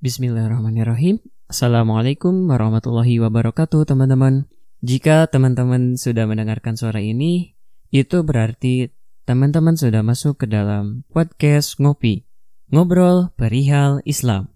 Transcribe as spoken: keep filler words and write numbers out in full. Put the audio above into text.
Bismillahirrahmanirrahim. Assalamualaikum warahmatullahi wabarakatuh, teman-teman. Jika teman-teman sudah mendengarkan suara ini, itu berarti teman-teman sudah masuk ke dalam podcast Ngopi, Ngobrol Perihal Islam.